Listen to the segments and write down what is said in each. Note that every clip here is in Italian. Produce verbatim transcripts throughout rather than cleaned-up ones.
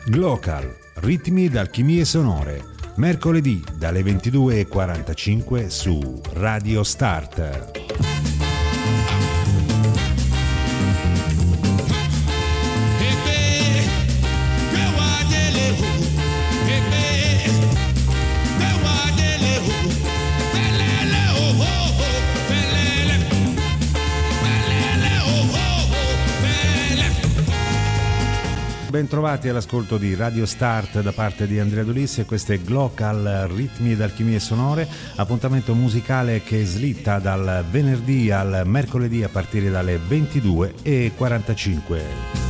Glocal, ritmi d'alchimie sonore, mercoledì dalle ventidue e quarantacinque su Radio Start. Bentrovati all'ascolto di Radio Start da parte di Andrea Dolissi e questo è Glocal, ritmi ed alchimie sonore, appuntamento musicale che slitta dal venerdì al mercoledì a partire dalle ventidue e quarantacinque.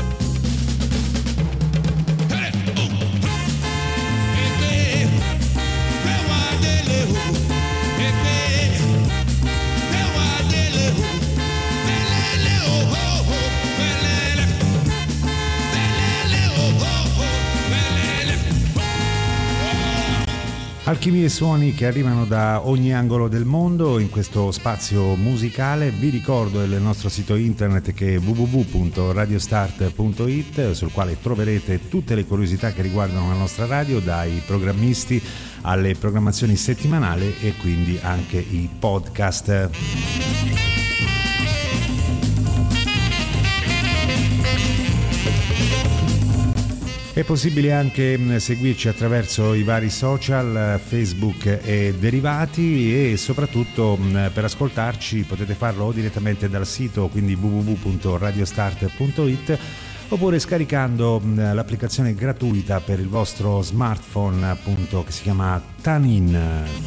Alchimie e suoni che arrivano da ogni angolo del mondo in questo spazio musicale. Vi ricordo il nostro sito internet che è w w w punto radiostart punto i t, sul quale troverete tutte le curiosità che riguardano la nostra radio, dai programmisti alle programmazioni settimanali e quindi anche i podcast. È possibile anche seguirci attraverso i vari social, Facebook e derivati, e soprattutto per ascoltarci potete farlo o direttamente dal sito, quindi w w w punto radiostart punto i t, oppure scaricando l'applicazione gratuita per il vostro smartphone, appunto, che si chiama TuneIn.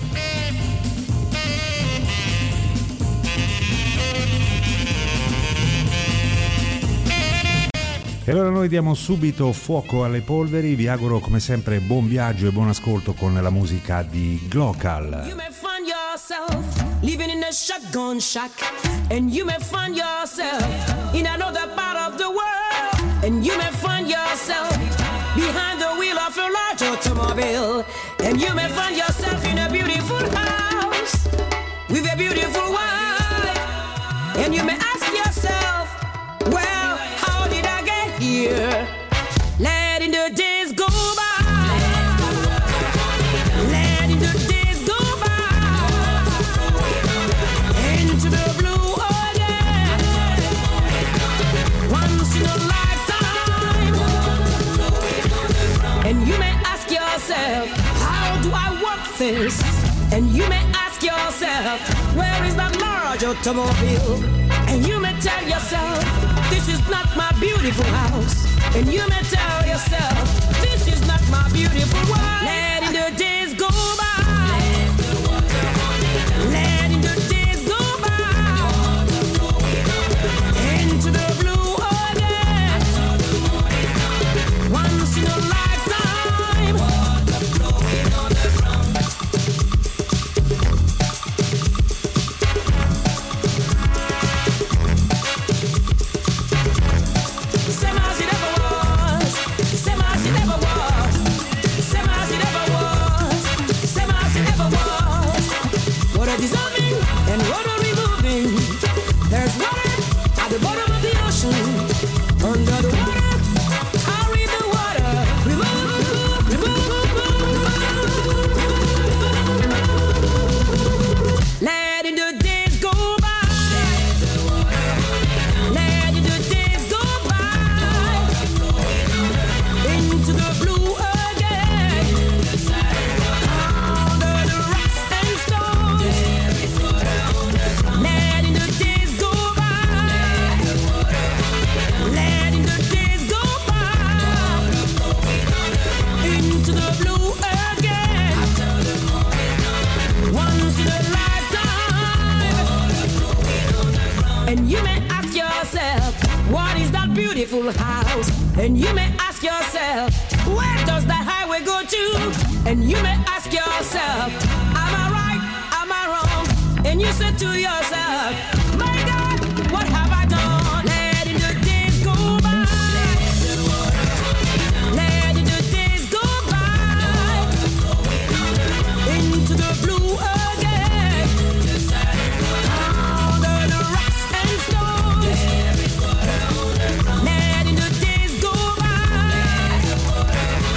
E allora noi diamo subito fuoco alle polveri, vi auguro come sempre buon viaggio e buon ascolto con la musica di Glocal. You may find yourself living in a shotgun shack, and you may find yourself in another part of the world, and you may find yourself behind the wheel of a large automobile, and you may find yourself in a beautiful house with a beautiful wife, and you may ask yourself, well, how did I get here? Letting the days go by, letting the days go by, into the blue again, once in a lifetime. And you may ask yourself, how do I work this? And you may ask yourself, where is that large automobile? And you may tell yourself, this is not my beautiful house. And you may tell yourself, this is not my beautiful wife. Letting the days go by, letting the days go by, into the blue again, once in a lifetime. Same as it ever was, same as it ever was, same as it ever was, same as it ever was. What a dissolving and what a removing. There's water at the bottom of the ocean. Under the water, carry the water. Remove, remove, remove. Letting the days go by, letting the days go by, into the blue again, under the rocks and stones, letting the days go by, letting the days go by, into the blue again, once in a lifetime. And you may ask yourself, what is that beautiful house? And you may ask yourself, where does that highway go to? And you may ask yourself, am I right? Am I wrong? And you say to yourself, my God, what have I done? Letting the days go by, letting the days go by, into the blue again, under the rocks and stones, letting the days go by,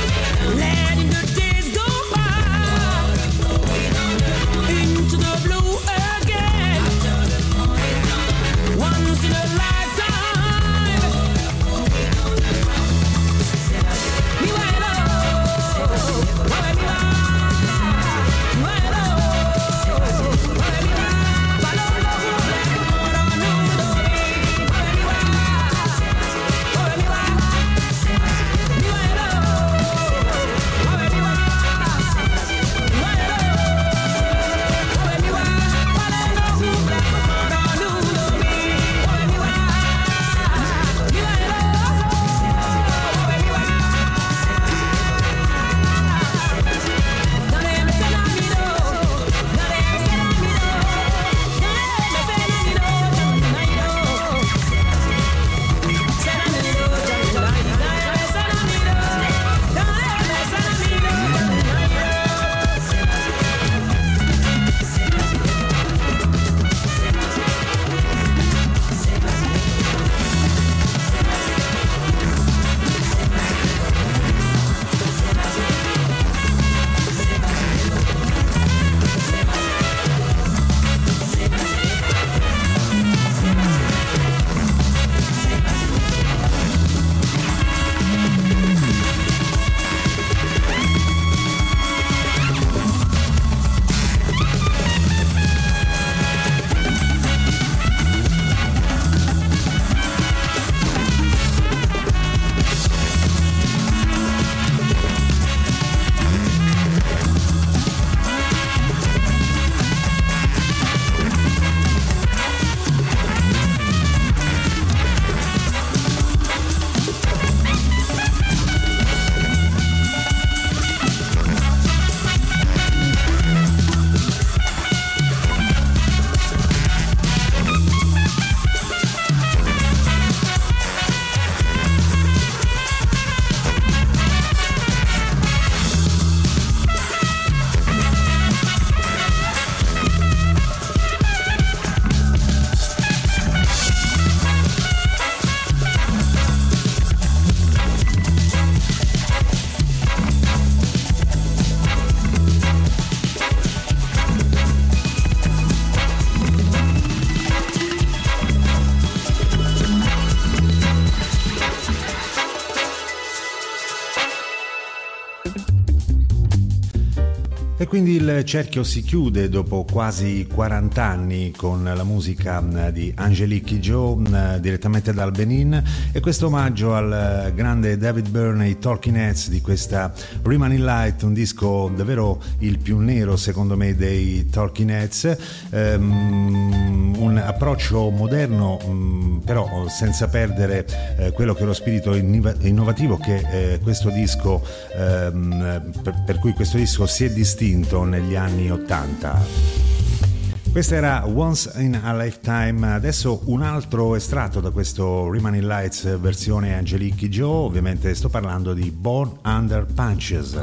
E quindi il cerchio si chiude dopo quasi quaranta anni con la musica di Angelique Kidjo direttamente dal Benin, e questo omaggio al grande David Byrne e i Talking Heads di questa Remaining Light, un disco davvero il più nero secondo me dei Talking Heads, um, un approccio moderno um, però senza perdere eh, quello che è lo spirito innovativo che eh, questo disco um, per, per cui questo disco si è distinto negli anni ottanta. Questa era Once in a Lifetime. Adesso un altro estratto da questo Remaining Lights versione Angelique Kidjo, ovviamente sto parlando di Born Under Punches.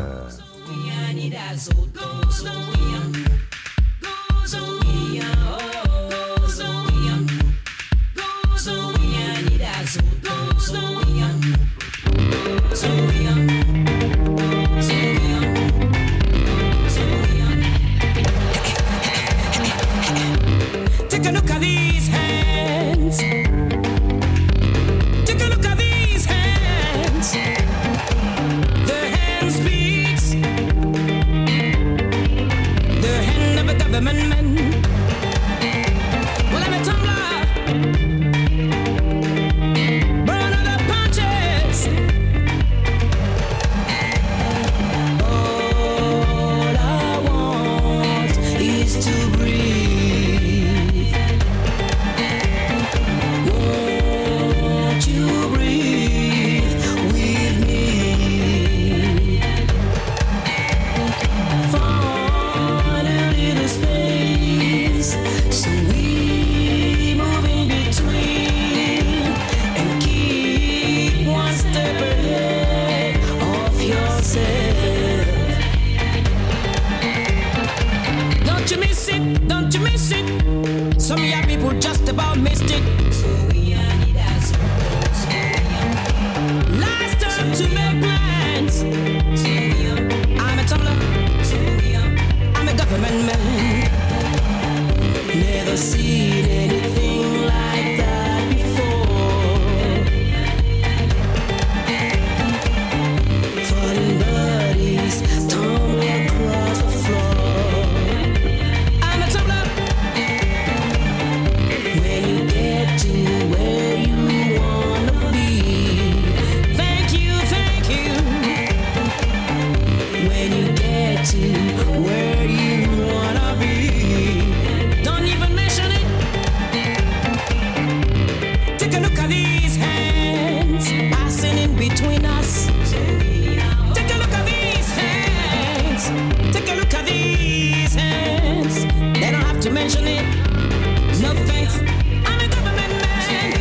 Take a look at these hands. Take a look at these hands. The hand speaks. The hand of a government man. Well, I'm a tumbler. Burn all the punches. All I want is to breathe. Some of your people just about missed it. Last time to make plans. I'm a tumbler. I'm a government man. Never seen anything like that before. Falling bodies tumbling across the floor. I'm a tumbler. When you get to where you wanna be, thank you, thank you. When you get to where you wanna be, don't even mention it. Take a look at these hands passing in between us. Take a look at these hands. Take a look at these hands. They don't have to mention it. No thanks. I'm a government man.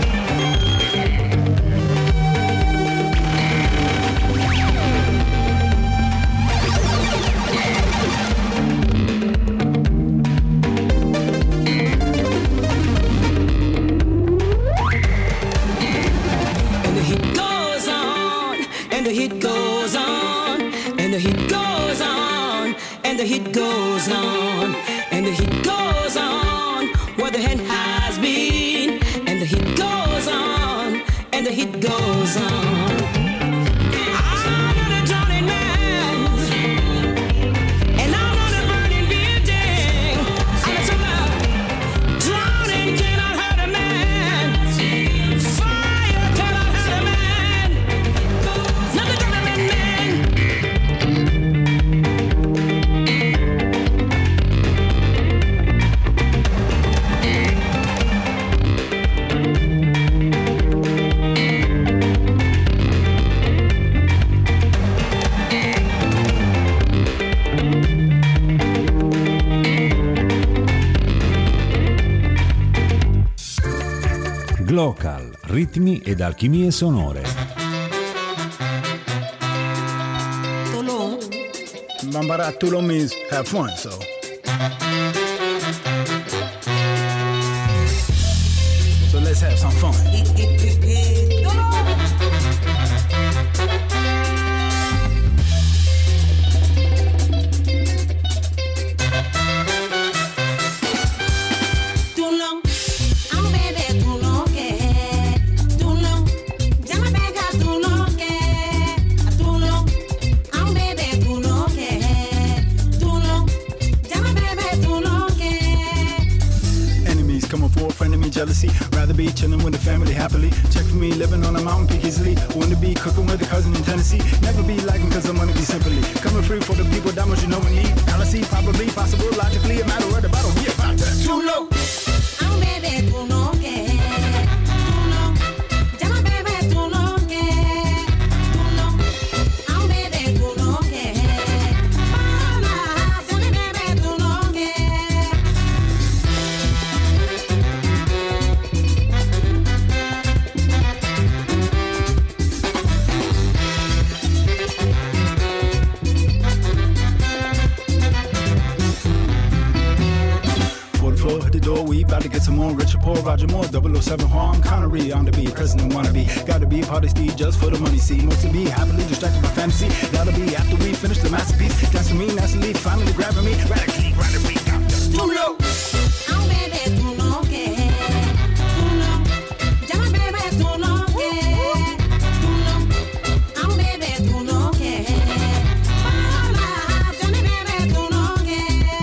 And the heat goes on, and the heat goes on, and the heat goes on, and the heat goes on, and the heat goes on, where the hand has been, and the heat goes on, and the heat goes on. I'm not a drowning man, and I'm not a burning building. I'm a tumbler. Drowning cannot hurt a man. Fire cannot hurt a man. Not the government man. Glocal, ritmi ed alchimie sonore. Toulon. Bambara Toulon means have fun, so. So let's have some fun. Tú chilling with the family happily. Check for me, living on a mountain peak easily. Want to be cooking with a cousin in Tennessee. Never be lagging cause I want to be simply coming free for the people, that much you know we need. Fallacy, probably, possible, logically, a matter of the battle. We about that. Too low. I'm baby, tú no que, tú no. Llama baby, tú no que, tú no. I'm baby, tú no que. Para, llama baby, tú no que. Hit the door, we about to get some more. Richard Paul, Roger Moore, double oh seven Harm Connery. On the beat, president wanna be. Gotta be party speed just for the money. See, most to be happily distracted by fantasy. Gotta be after we finish the masterpiece. That's me, naturally, finally grabbing me. Radically, radically, I'm just too low. I'm baby, tú no que, tú no. Llama baby, tú no que, tú no. I'm baby, tú no que. Para, llama baby, tú no que.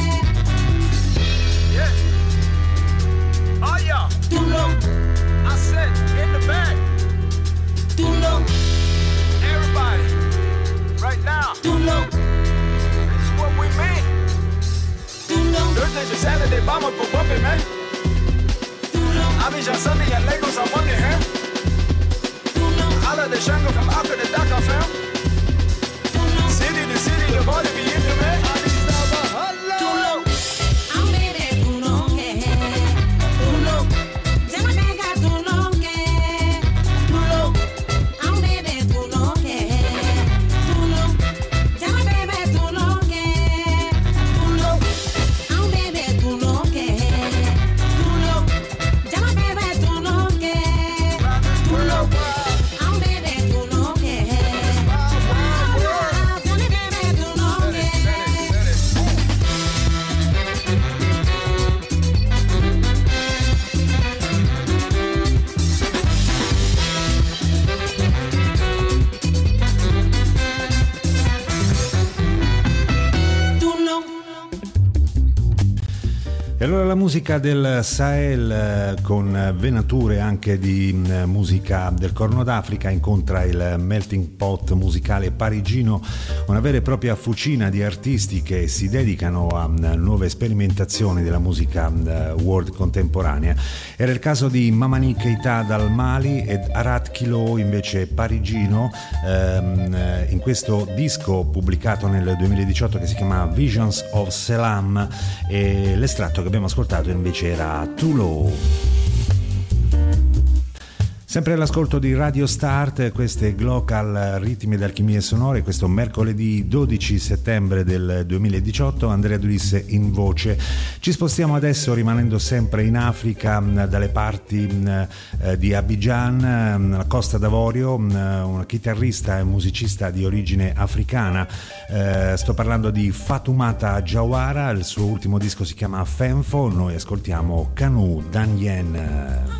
Yeah. Oh yeah. Tú no, I said in the back. tú no, Everybody, right now. tú no, This is what we mean. tú no, Thursday to Saturday, vamos por bumping, man. tú no, Abidjan Sunday and Lagos on Monday, huh? tú no, Holla the Shango from Accra to Dakar, fam. tú no. City to city, the body be in the man. Tú no, I'm baby, tú no que, tú no. Llama pega, tú no que, tú no. I'm baby, tú no que, tú no. Llama baby, tú no que, tú no. I'm baby, tú no que, tú no. Llama baby, tú no que, tú no. I'm baby, tú no que, llama baby, tú no que. Tú no. E allora la musica del Sahel eh, con venature anche di eh, musica del Corno d'Africa incontra il melting pot musicale parigino, una vera e propria fucina di artisti che si dedicano a eh, nuove sperimentazioni della musica eh, world contemporanea. Era il caso di Mamani Keita dal Mali ed Arat Kilo invece parigino, ehm, eh, in questo disco pubblicato nel duemiladiciotto che si chiama Visions of Selam, e l'estratto che abbiamo ascoltato invece era Too Low. Sempre all'ascolto di Radio Start, queste Glocal Ritmi ed Alchimie Sonore, questo mercoledì dodici settembre del duemiladiciotto, Andrea Dulis in voce. Ci spostiamo adesso rimanendo sempre in Africa, dalle parti eh, di Abidjan, la Costa d'Avorio, una chitarrista e musicista di origine africana. Eh, sto parlando di Fatoumata Jawara, il suo ultimo disco si chiama Fenfo, noi ascoltiamo Kanu Danyen.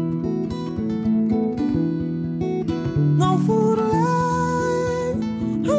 No food alive.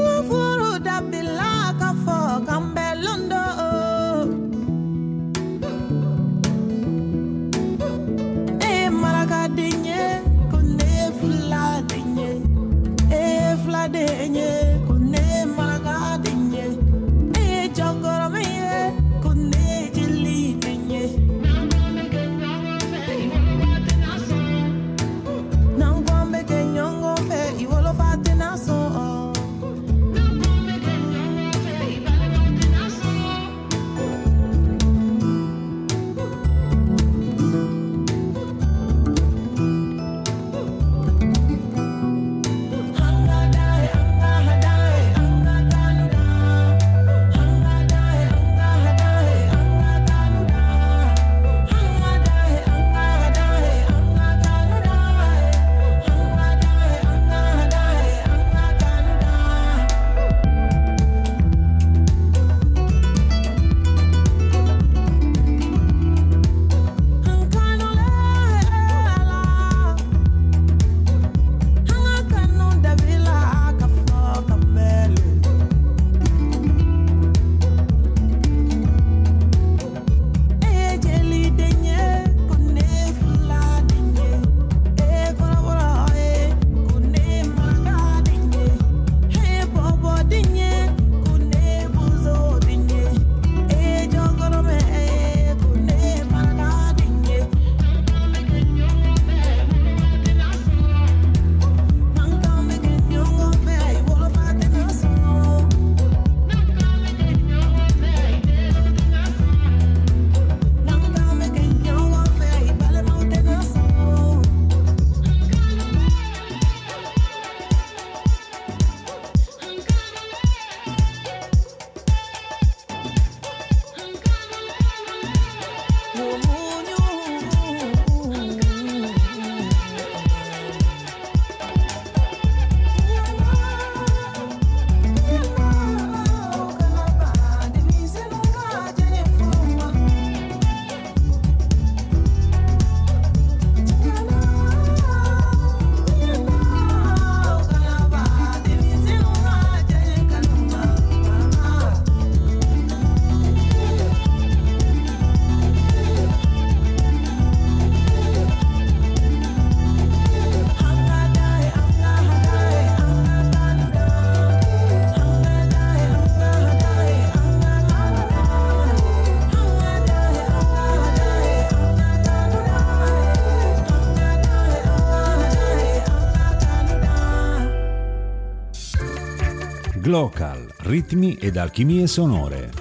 Glocal, ritmi ed alchimie sonore.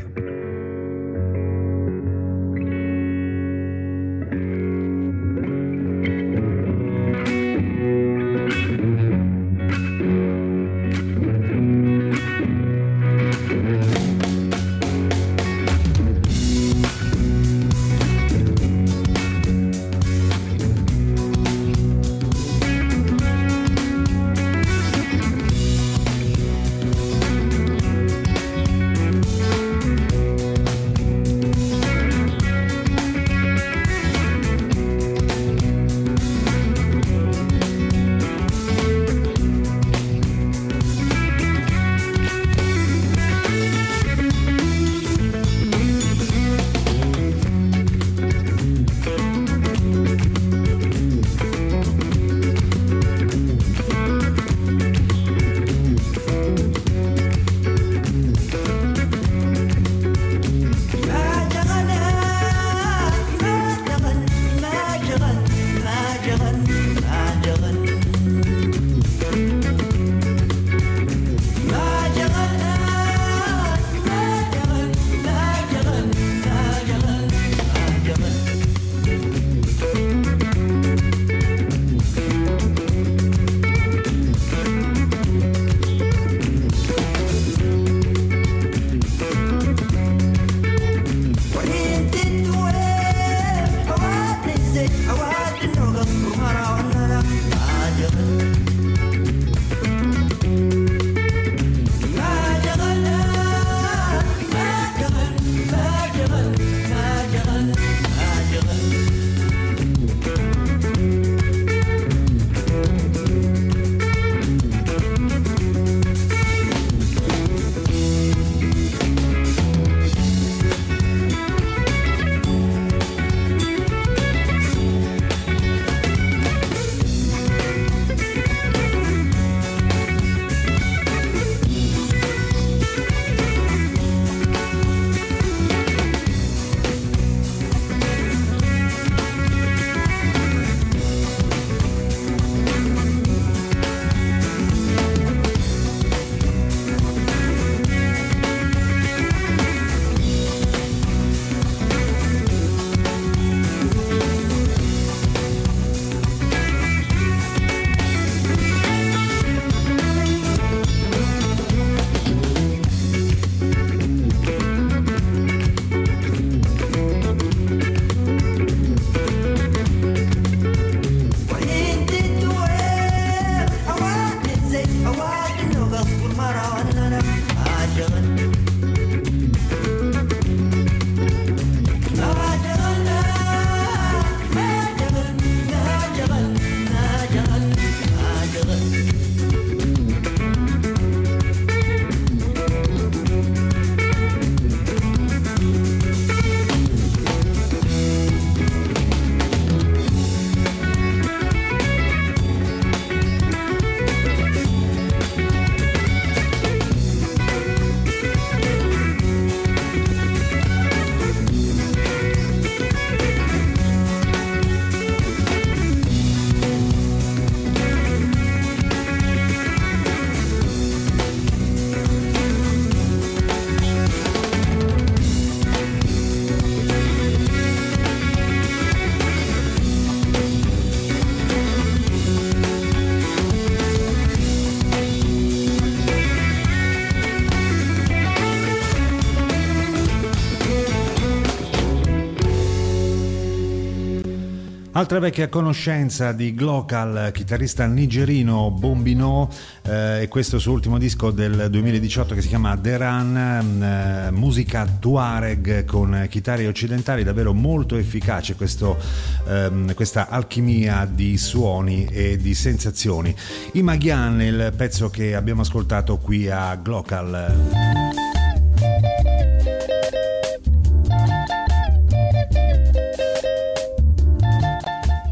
Altra vecchia conoscenza di Glocal, chitarrista nigerino Bombino, eh, e questo suo ultimo disco del duemiladiciotto che si chiama The Run, eh, musica Tuareg con chitarre occidentali, davvero molto efficace questo, ehm, questa alchimia di suoni e di sensazioni. I Magian, il pezzo che abbiamo ascoltato qui a Glocal.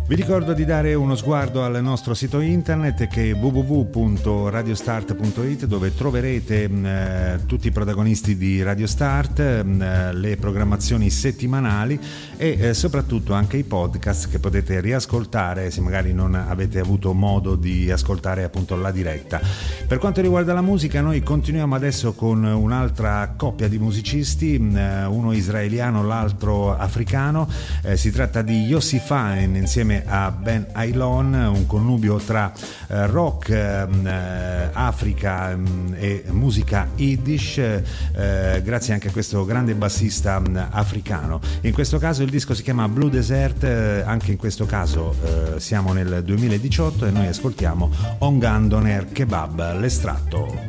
Vi ricordo di dare uno sguardo al nostro sito internet che è w w w punto radio start punto i t, dove troverete eh, tutti i protagonisti di Radio Start, eh, le programmazioni settimanali e eh, soprattutto anche i podcast che potete riascoltare se magari non avete avuto modo di ascoltare appunto la diretta. Per quanto riguarda la musica, noi continuiamo adesso con un'altra coppia di musicisti, eh, uno israeliano, l'altro africano. Eh, si tratta di Yossi Fine insieme a Ben Ailon, un connubio tra eh, rock, eh, Africa mh, e musica Yiddish, eh, grazie anche a questo grande bassista mh, africano. In questo caso il disco si chiama Blue Desert, eh, anche in questo caso eh, siamo nel duemiladiciotto e noi ascoltiamo Ongan Doner Kebab, l'estratto.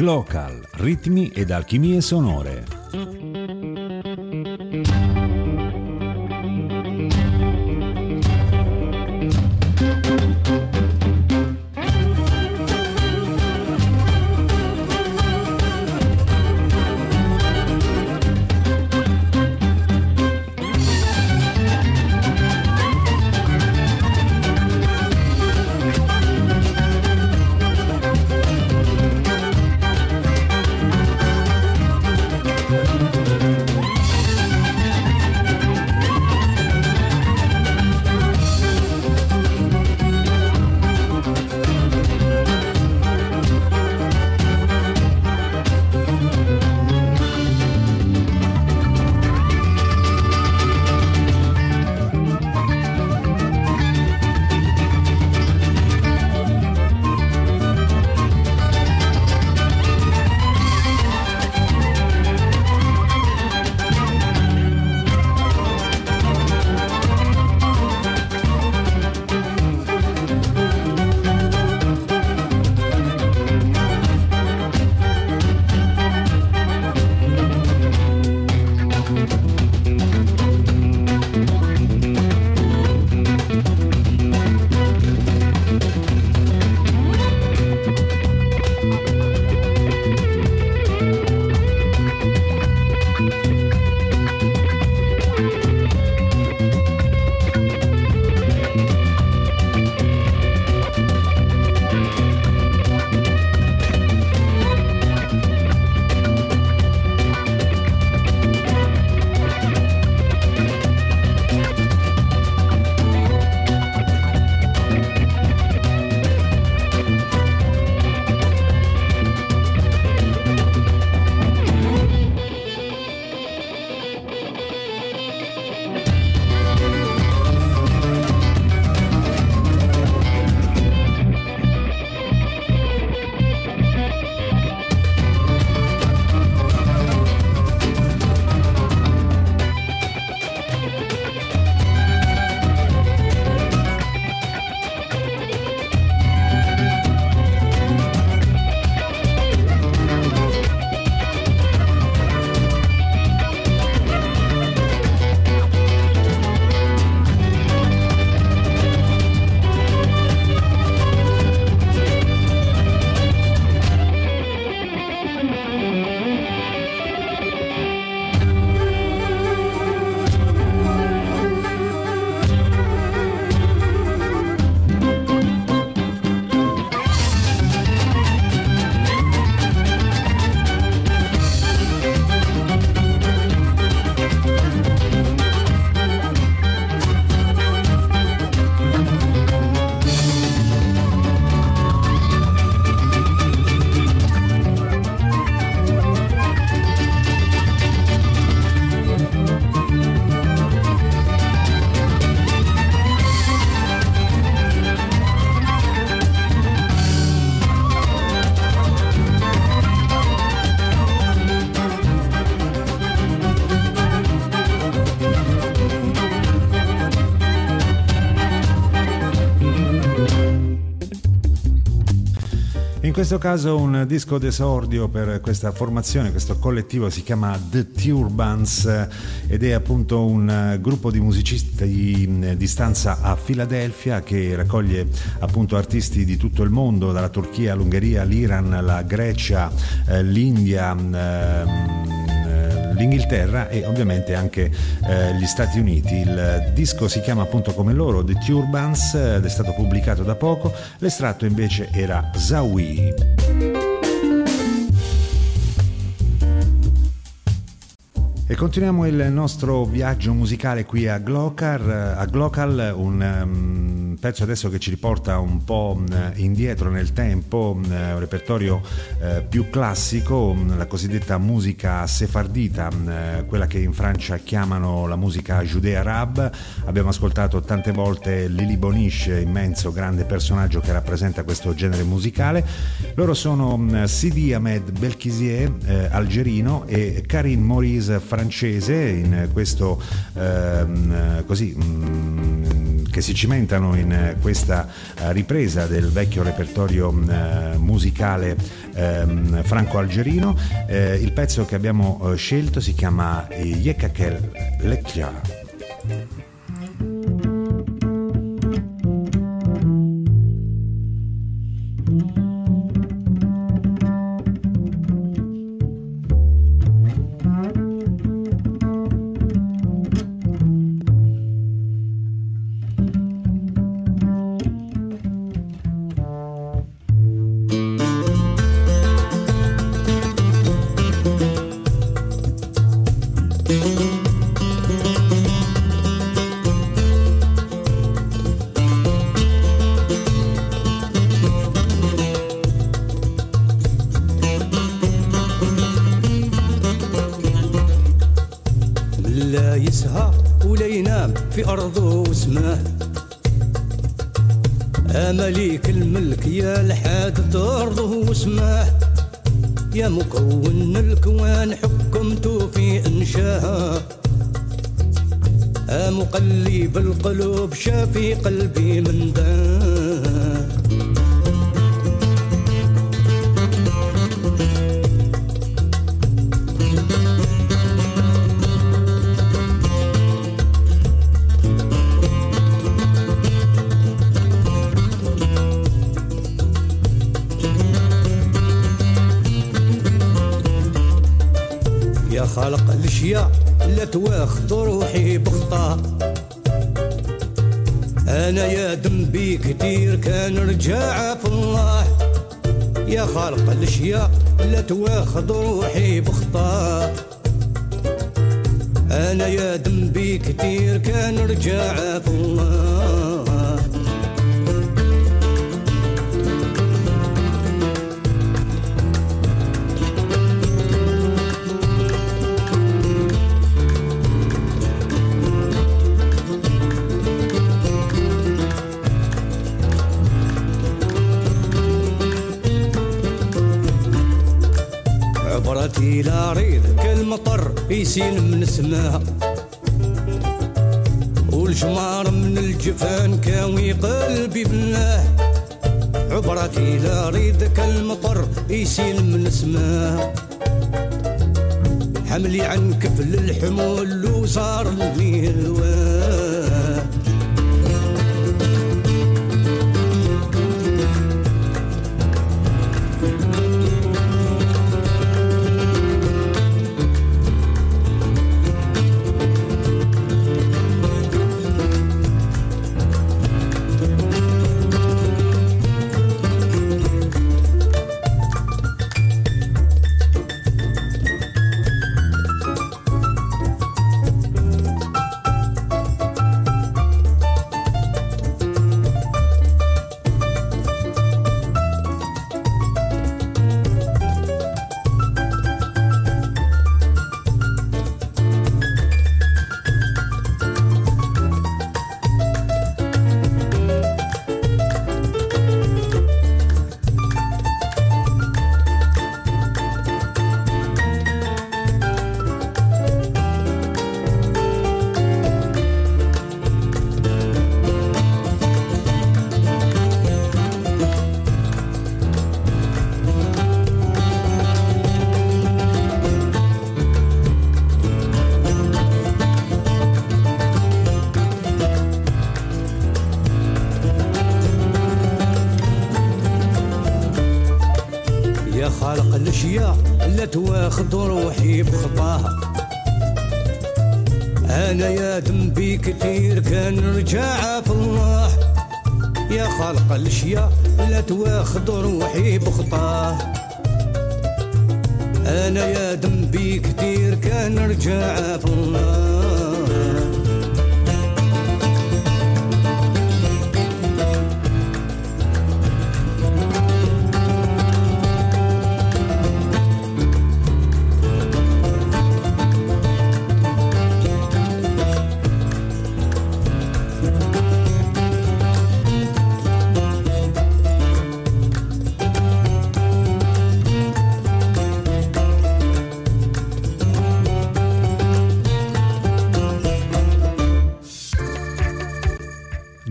Glocal, ritmi ed alchimie sonore. In questo caso un disco d'esordio per questa formazione, questo collettivo si chiama The Turbans ed è appunto un gruppo di musicisti di stanza a Filadelfia che raccoglie appunto artisti di tutto il mondo, dalla Turchia all'Ungheria, l'Iran, la Grecia, eh, l'India, ehm, l'Inghilterra e ovviamente anche eh, gli Stati Uniti. Il disco si chiama appunto come loro The Turbans ed è stato pubblicato da poco. L'estratto invece era Zawi. E continuiamo il nostro viaggio musicale qui a Glocal, a Glocal un um, pezzo adesso che ci riporta un po' indietro nel tempo, un repertorio uh, più classico, la cosiddetta musica sefardita, uh, quella che in Francia chiamano la musica judeo-arab. Abbiamo ascoltato tante volte Lili Bonish, immenso grande personaggio che rappresenta questo genere musicale. Loro sono um, Sidi Ahmed Belkisier, uh, algerino, e Karim Maurice francese, in questo ehm, così mh, che si cimentano in questa ripresa del vecchio repertorio musicale franco-algerino. Il pezzo che abbiamo scelto si chiama Yekakel Lekja. في أرضه وسماه مليك الملك يا لحاد أرضه وسماه يا مكون الكوان حكمته في إنشاها مقلب القلوب شافي قلبي من داه خلق الاشياء لا تواخذ روحي بخطا انا يا ذنبي كتير كان رجع في الله يا خالق الاشياء لا تواخذ روحي بخطا انا يا ذنبي كتير كان رجع في الله عبرتي لا ريد كالمطر يسيل من سماها والجمار من الجفان كاوي قلبي بالله عبرتي لا ريد كالمطر يسيل من سماها حملي عن كفل الحمول وصار لي الواه خالق الاشياء لا تواخذ روحي بخطاها انا يا ذنبي كتير كان رجع في الله يا خالق الاشياء لا تواخذ روحي بخطاه انا يا ذنبي كتير كان رجع في الله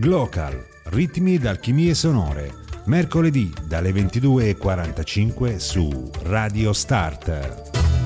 Glocal, ritmi d'alchimie sonore, mercoledì dalle ventidue e quarantacinque su Radio Start.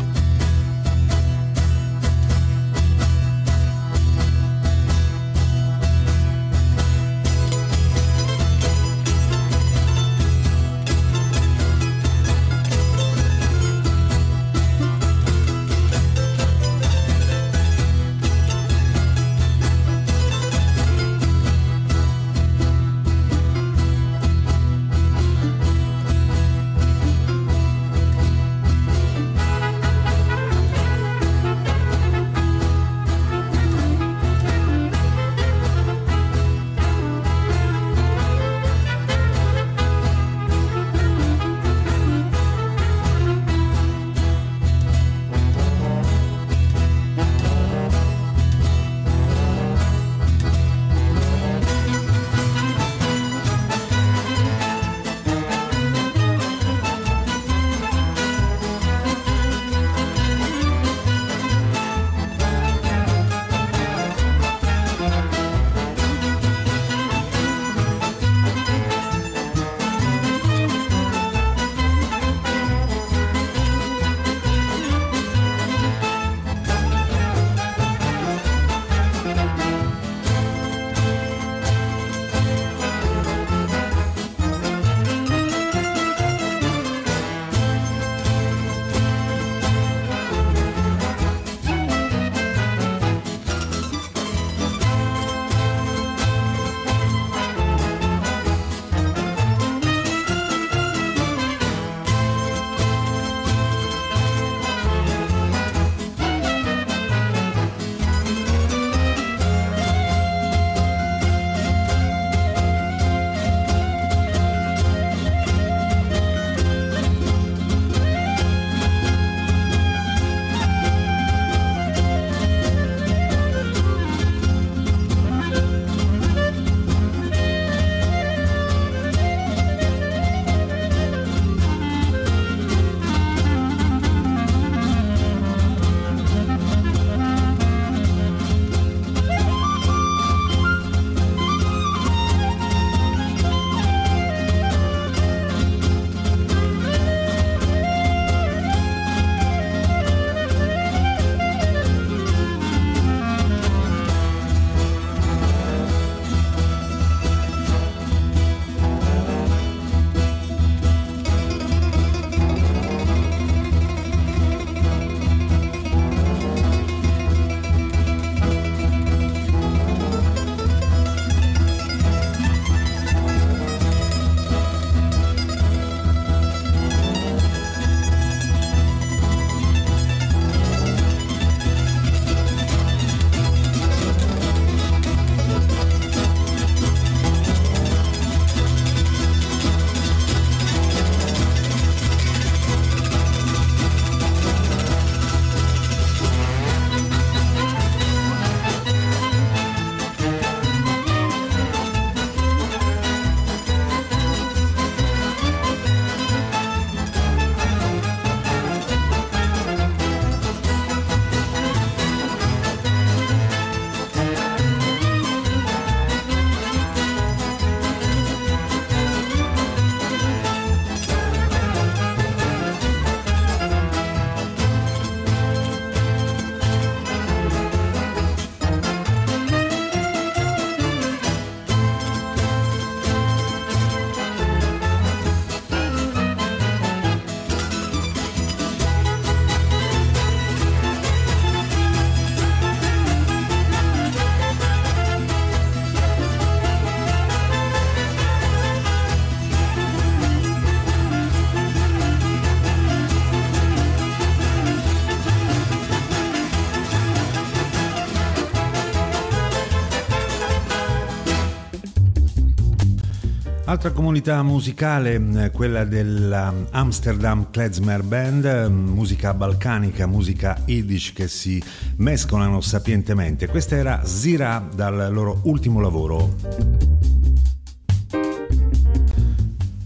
Altra comunità musicale, quella dell'Amsterdam Klezmer Band, musica balcanica, musica yiddish che si mescolano sapientemente. Questa era Zira dal loro ultimo lavoro.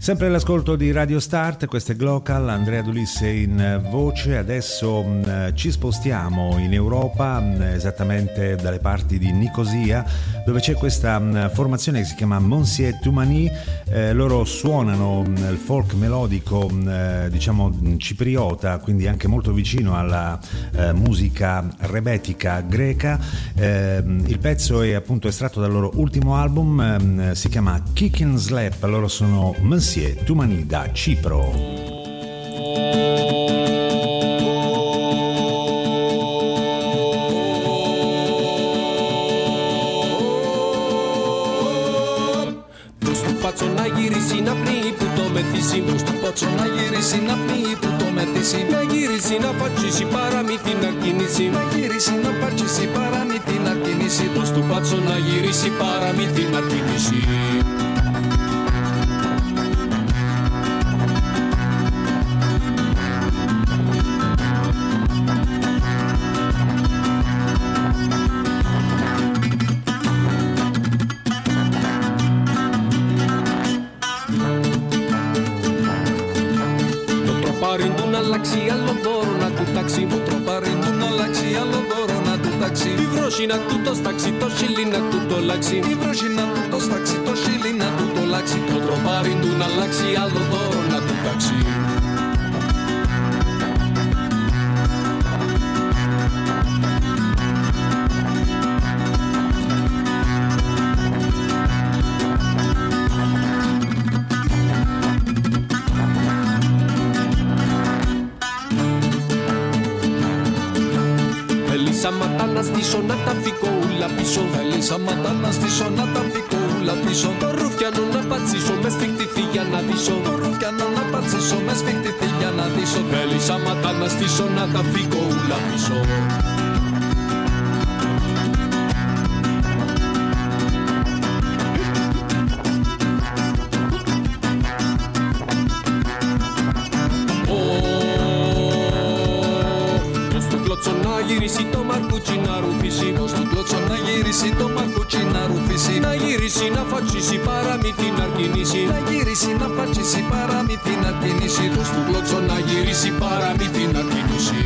Sempre all'ascolto di Radio Start, questo è Glocal, Andrea D'Ulisse in voce. Adesso mh, ci spostiamo in Europa, mh, esattamente dalle parti di Nicosia, dove c'è questa mh, formazione che si chiama Monsieur Toumani. Eh, loro suonano mh, il folk melodico, mh, diciamo mh, cipriota, quindi anche molto vicino alla eh, musica rebetica greca. Eh, il pezzo è appunto estratto dal loro ultimo album, mh, si chiama Kick and Slap. Loro sono Monsieur Toumani da Cipro. Na giri na pri puto metisi sto pazzo na giri na pri puto metisi na giri na facci si paramiti na kinisi na giri na facci si paramiti na kinisi sto pazzo na giri si paramiti na kinisi. Na tutto staxi, to scillina tutto laxi. Mi brocina tutto staxi, to scillina tutto laxi. To trovare in una laxi all'odoro na tu taxi. Στη σονάτα φύγω ούλα πίσω. Θέλησα ματάνα στη σονάτα φύγω ούλα πίσω. Το ρουφιανό να πατσίσω με σφιχτηθεί για να δείσω. Το ρουφιανό να πατσίσω με σφιχτηθεί για να δείσω. Θέλησα ματάνα στη σονάτα φύγω ούλα πίσω. Γυρίσει το μαρκούτσι να ρουφήσει. Ως του κλωτσό να γυρίσει το μαρκούτσι να ρουφήσει. Να γυρίσει να φατσίσει παραμύθι να κινήσει. Να γυρίσει να φατσίσει παραμύθι να κινήσει. Ως του κλωτσό να γυρίσει παραμύθι να κινήσει.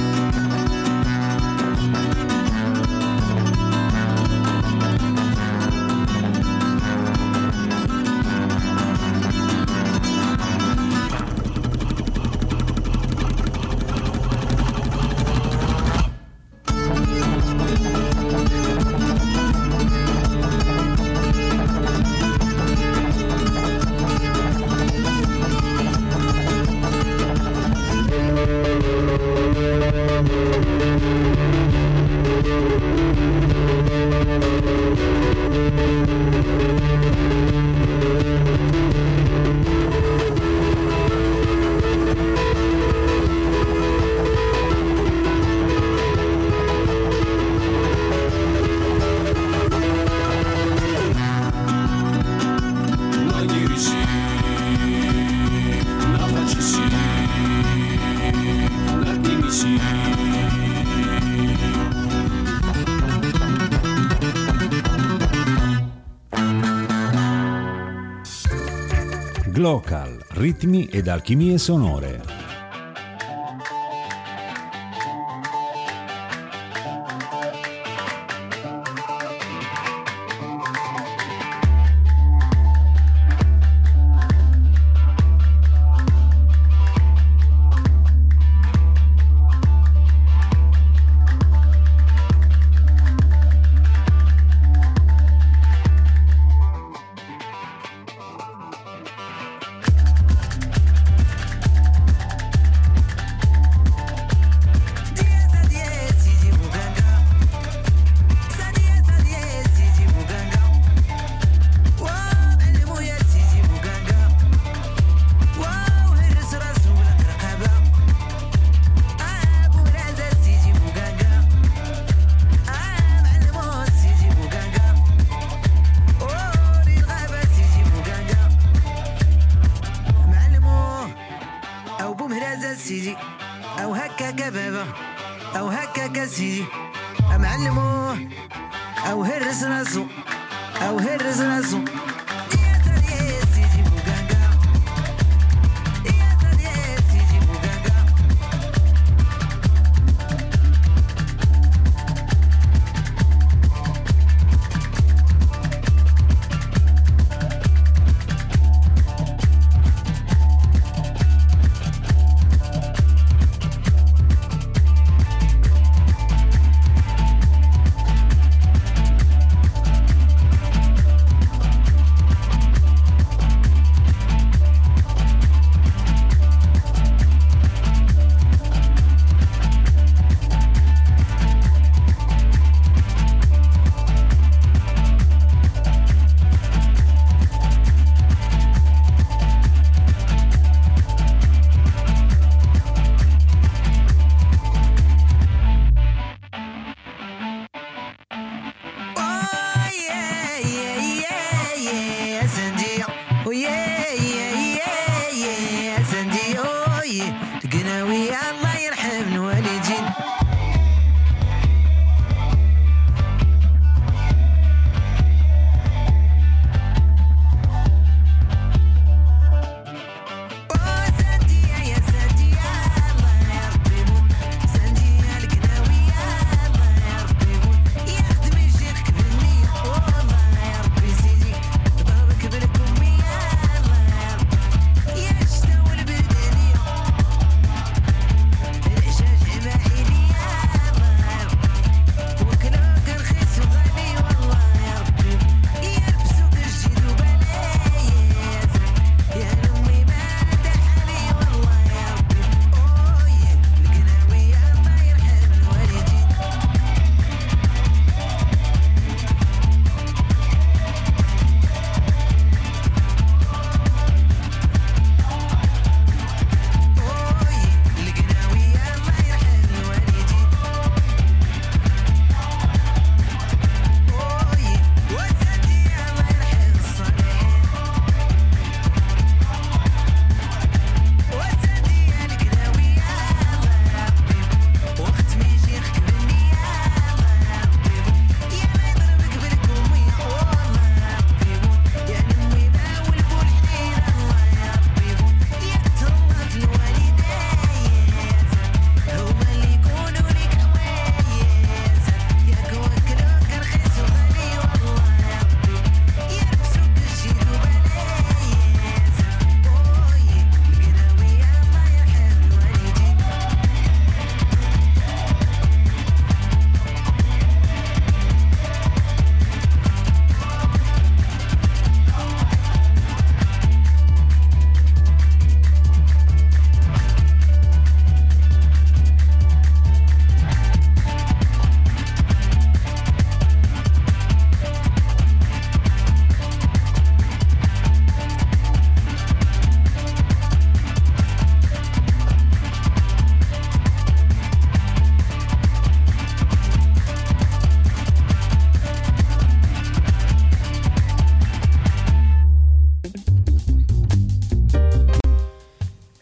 Glocal, ritmi ed alchimie sonore. او هرس راسو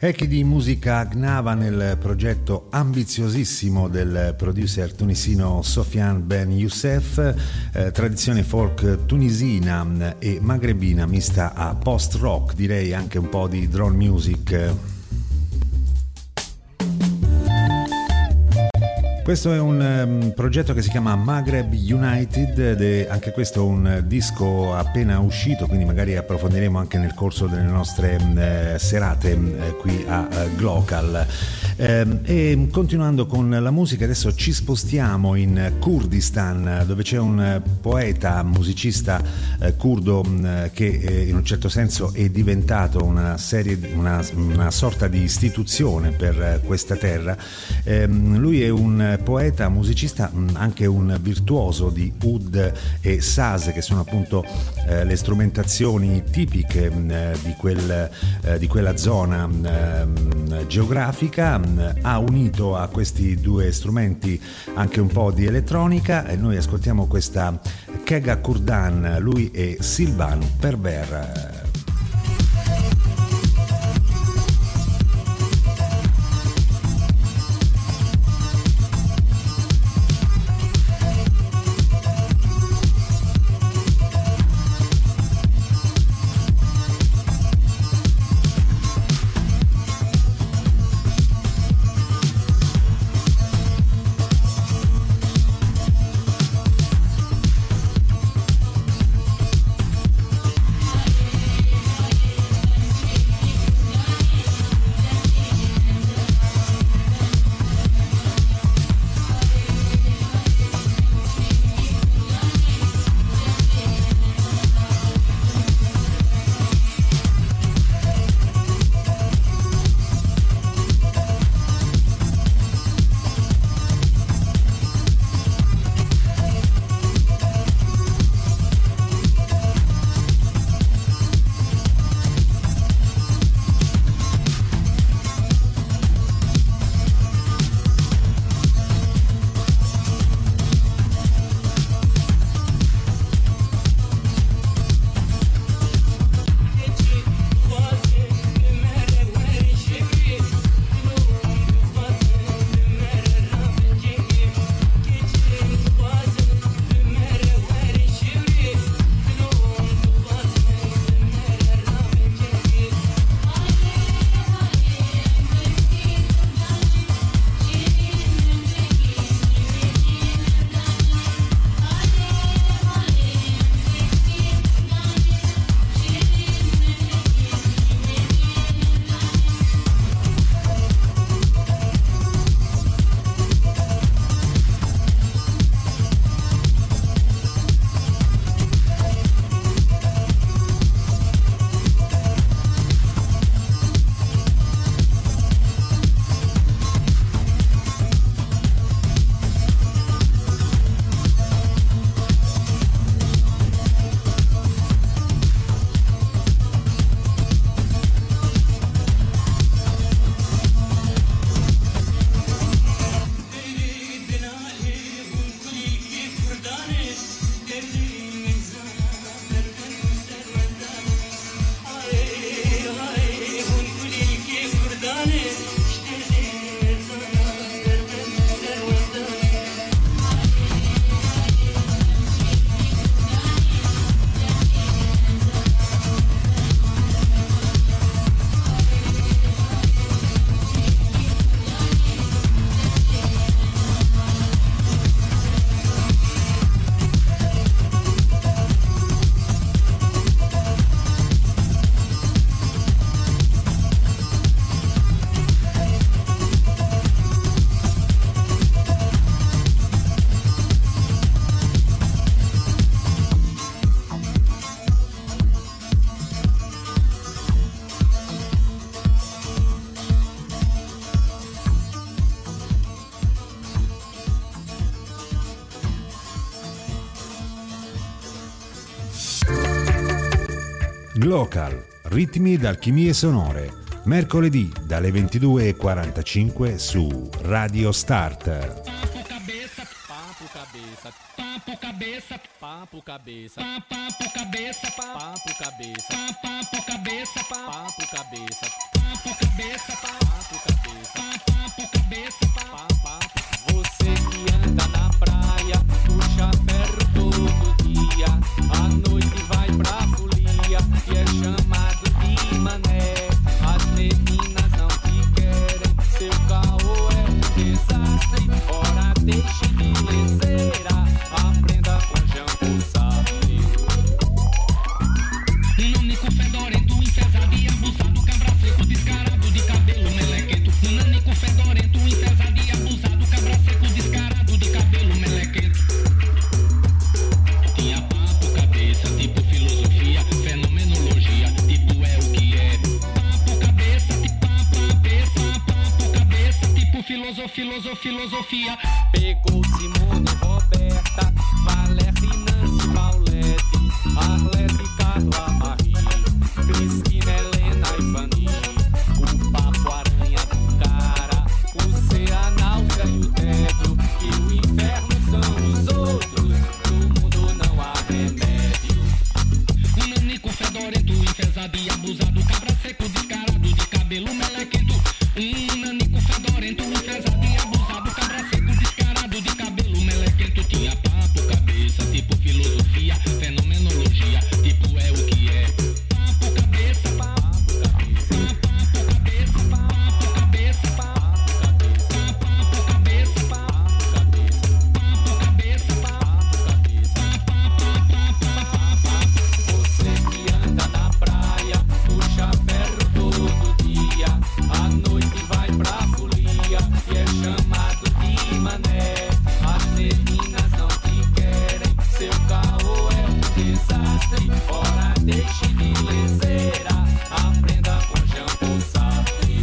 Specchi di musica Gnava nel progetto ambiziosissimo del producer tunisino Sofiane Ben Youssef, eh, tradizione folk tunisina e magrebina mista a post-rock, direi anche un po' di drone music. Questo è un um, progetto che si chiama Maghreb United ed è anche questo un disco appena uscito, quindi magari approfondiremo anche nel corso delle nostre uh, serate uh, qui a uh, Glocal. Uh, e continuando con la musica, adesso ci spostiamo in Kurdistan, dove c'è un poeta, musicista uh, curdo uh, che uh, in un certo senso è diventato una serie, una, una sorta di istituzione per uh, questa terra. Uh, lui è un poeta, musicista, anche un virtuoso di oud e saz, che sono appunto eh, le strumentazioni tipiche eh, di, quel, eh, di quella zona eh, geografica. Ha unito a questi due strumenti anche un po' di elettronica e noi ascoltiamo questa Kega Kurdan, lui è Silvano Perver. Glocal, ritmi d'alchimie sonore, mercoledì dalle ventidue e quarantacinque su Radio Start. Papo cabeça, papo cabeça, papo cabeça, papo cabeça, papo cabeça, papo cabeça, papo cabeça, papo cabeça. papo cabeça, papo cabeça, papo cabeça, papo. Você que anda na praia, puxa ferro todo dia, à noite vai pra folia e é chamado de mané. As meninas não te querem, seu caô é um desastre. Ora deixe de leseira, aprenda com Jean Sartre. Um nanico fedorento, enfesado e abusado, cabra seco, descarado, de cabelo melequento. Um nanico fedorento, enfesado e abusado, cabra seco, descarado, de cabelo melequento. Tinha papo cabeça, tipo filosofia, fenomenologia, tipo é o que é. Papo cabeça, tipo papo cabeça, papo cabeça, tipo filosofia, filosofia, filosofia. Pegou Simone, Roberta, Valéria, Nancy, Paulette, Arlete, Carla, Marie, Cristina, Helena e Fanny. O papo aranha do cara, o ser, a náusea e o tédio, e o inferno são os outros, no mundo não há remédio. Um nanico fedorento, enfesado e abusado, cabra seco, descarado, de cabelo melequento. Um nanico fedorento, enfesado e abusado, cabra seco, descarado, de cabelo melequento. Tinha papo cabeça, tipo filosofia, fenomenologia, tipo é o que é. Papo cabeça, papo cabeça, papo cabeça, papo cabeça, papo cabeça, papo cabeça, papo cabeça, papo cabeça, papo cabeça. Você que anda na praia, puxa ferro todo dia, à noite vai pra folia e é chamado de mané. As meninas não te querem, seu caô é um desastre. Ora deixe de leseira, aprenda com Jean Sartre.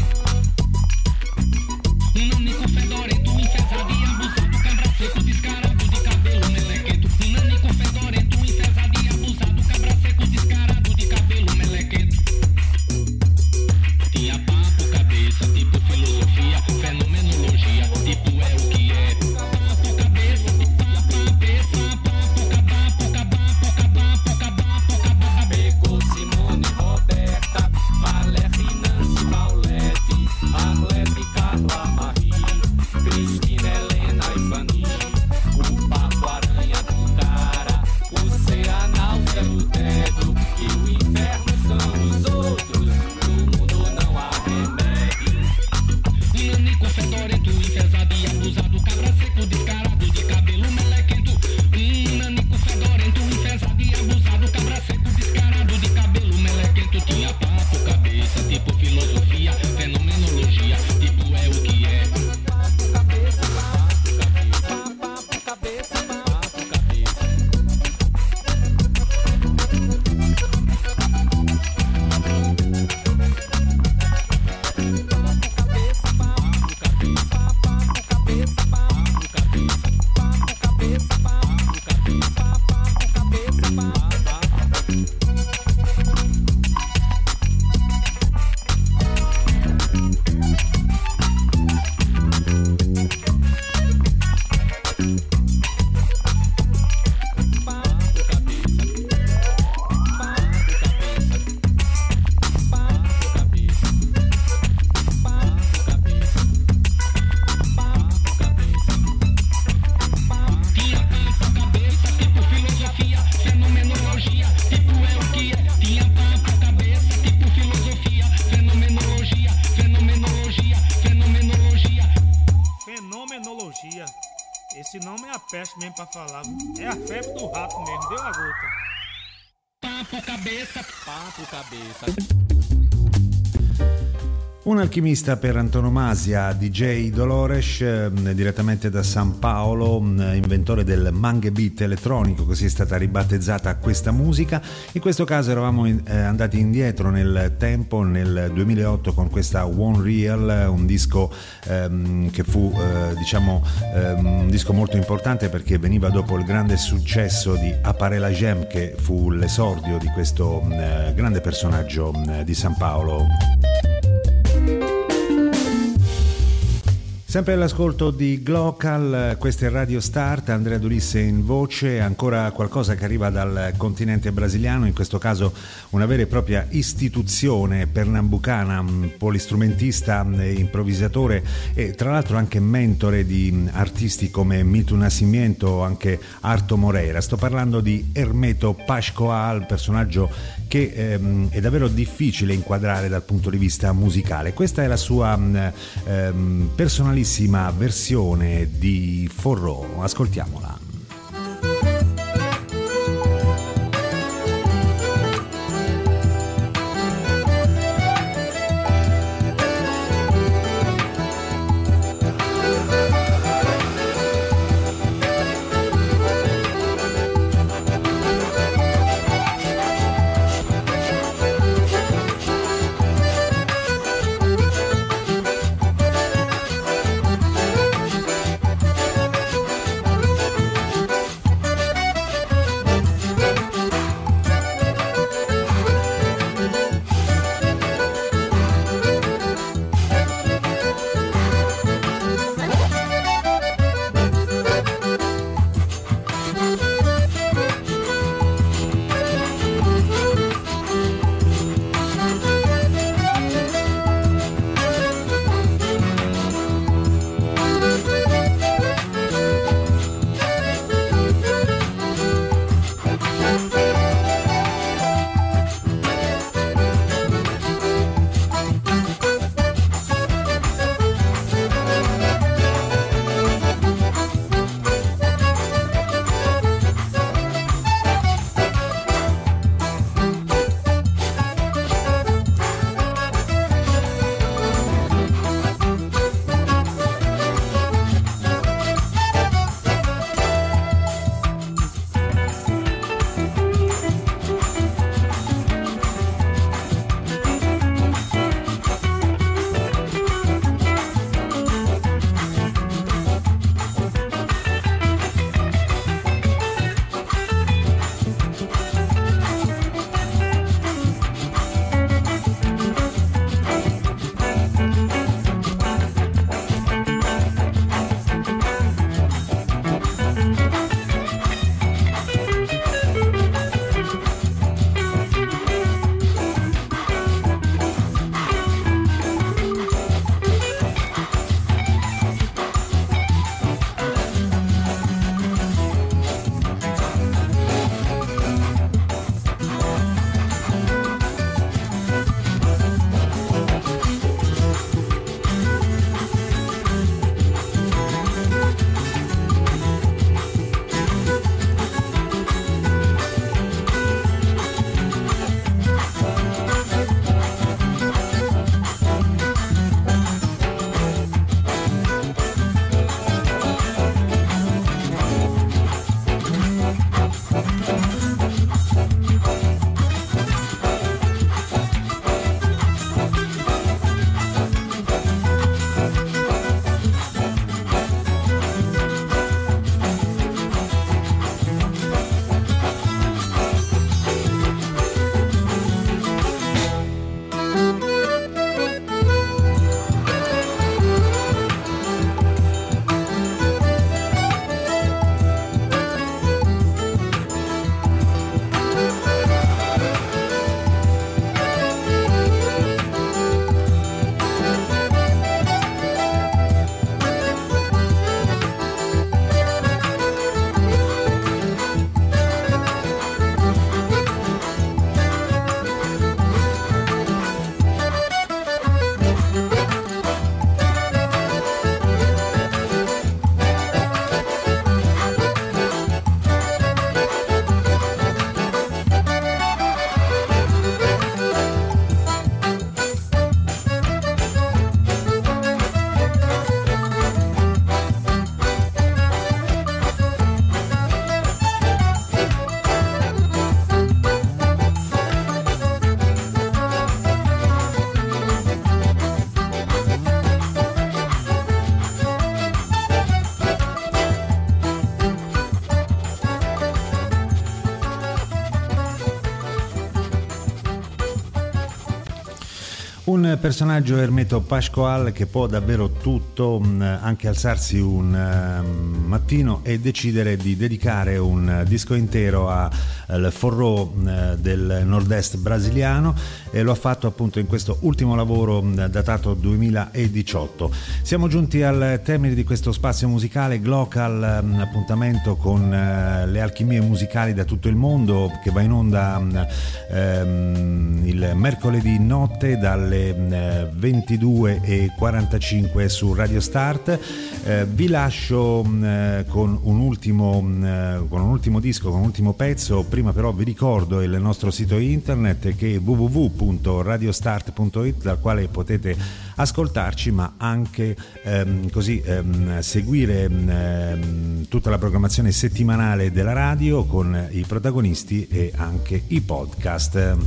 Um nanico fedorento, enfesado e abusado, cabra seco, descarado, de cabelo melequento. Um nanico fedorento, enfesado e abusado, cabra seco, descarado, de cabelo melequento. Tinha papo cabeça, tipo filosofia, fenomenologia, tipo é o que é. Papo cabeça, papo cabeça, papo cabapo, cabapo, cabapo, cabapo, cabapo. Pegou Simone, Roberta, Valéria, Nancy, Paulette, Arlete, Carla, Marie, Cristina, Helena e Fanny. O papo aranha do cara, o ser, a náusea e o tédio, e o inferno são os outros, no mundo não há remédio. Um nanico fedorento, enfesado e abusado, cabra seco, descarado, de cabelo melequento. Um nanico fedorento, enfesado e abusado, cabra seco, descarado, de cabelo melequento. Tinha papo cabeça, tipo filosofia, fenomenologia, tipo é o que é. Papo cabeça, papo cabeça, papo cabeça, papo cabeça. Fenomenologia. Esse nome é a peste mesmo pra falar. É a febre do rato mesmo, deu a gota. Papo cabeça, papo cabeça. Un alchimista per antonomasia, D J Dolores, eh, direttamente da San Paolo, inventore del mangue beat elettronico, così è stata ribattezzata questa musica. In questo caso eravamo in, eh, andati indietro nel tempo, nel duemilaotto, con questa One Real, un disco ehm, che fu eh, diciamo ehm, un disco molto importante perché veniva dopo il grande successo di Appare la Gem, che fu l'esordio di questo eh, grande personaggio eh, di San Paolo. Sempre all'ascolto di Glocal, questa è Radio Start, Andrea Dulisse in voce, ancora qualcosa che arriva dal continente brasiliano, in questo caso una vera e propria istituzione pernambucana, polistrumentista, improvvisatore e tra l'altro anche mentore di artisti come Milton Nascimento, anche Arto Moreira. Sto parlando di Hermeto Pascoal, personaggio che ehm, è davvero difficile inquadrare dal punto di vista musicale. Questa è la sua ehm, personalissima versione di Forró, ascoltiamola. Thank Un personaggio, Hermeto Pascoal, che può davvero tutto, anche alzarsi un mattino e decidere di dedicare un disco intero al forró del nord-est brasiliano, e lo ha fatto appunto in questo ultimo lavoro datato duemiladiciotto. Siamo giunti al termine di questo spazio musicale Glocal, appuntamento con le alchimie musicali da tutto il mondo, che va in onda ehm, il mercoledì notte dalle ventidue e quarantacinque su Radio Start. Eh, vi lascio eh, con un ultimo eh, con un ultimo disco, con un ultimo pezzo. Prima però vi ricordo il nostro sito internet, che è w w w punto radiostart punto it, dal quale potete ascoltarci, ma anche ehm, così ehm, seguire ehm, tutta la programmazione settimanale della radio con i protagonisti e anche i podcast.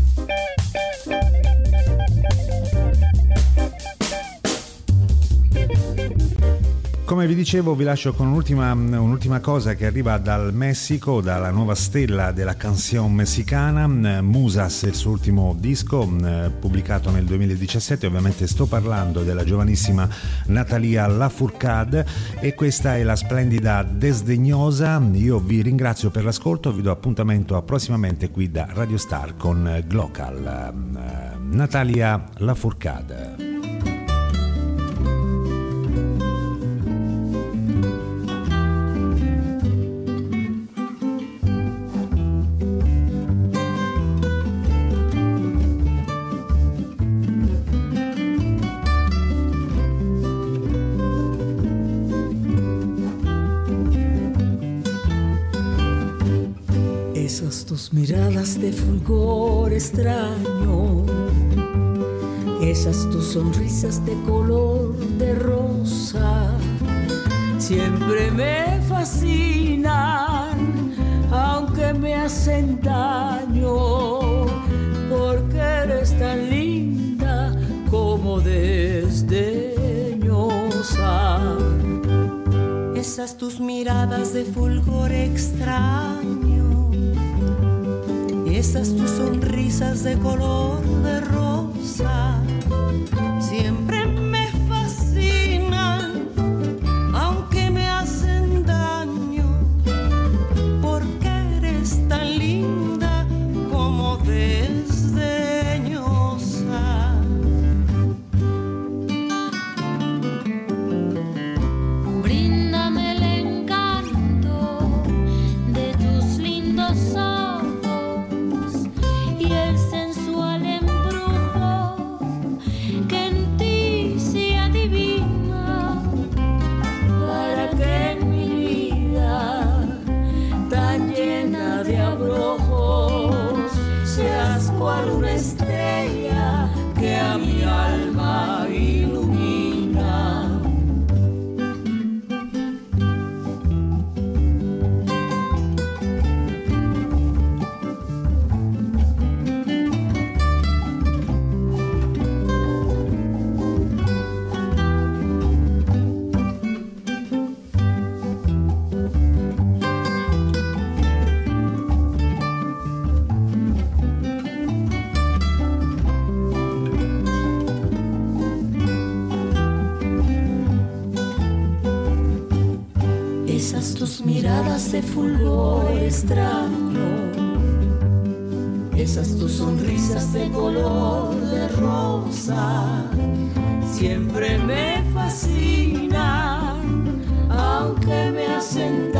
Come vi dicevo, vi lascio con un'ultima, un'ultima cosa che arriva dal Messico, dalla nuova stella della canción messicana, Musas, il suo ultimo disco pubblicato nel duemiladiciassette. Ovviamente sto parlando della giovanissima Natalia Lafourcade, e questa è la splendida Desdegnosa. Io vi ringrazio per l'ascolto, vi do appuntamento a prossimamente qui da Radio Star con Glocal. Natalia Lafourcade. Tus miradas de fulgor extraño, esas tus sonrisas de color de rosa, siempre me fascinan, aunque me hacen daño, porque eres tan linda como desdeñosa. Esas tus miradas de fulgor extraño, esas tus sonrisas de color de rosa, siempre me fascinan, aunque me hacen daño, porque eres tan linda como desdeñosa. Bríndame el encanto de tus lindos ojos y el sensual embrujo que en ti se adivina, para que en mi vida tan llena de abrojos seas cual una estrella que a mi alma ilumina. Esas tus miradas de fulgor extraño, esas tus sonrisas de color de rosa, siempre me fascinan, aunque me hacen daño.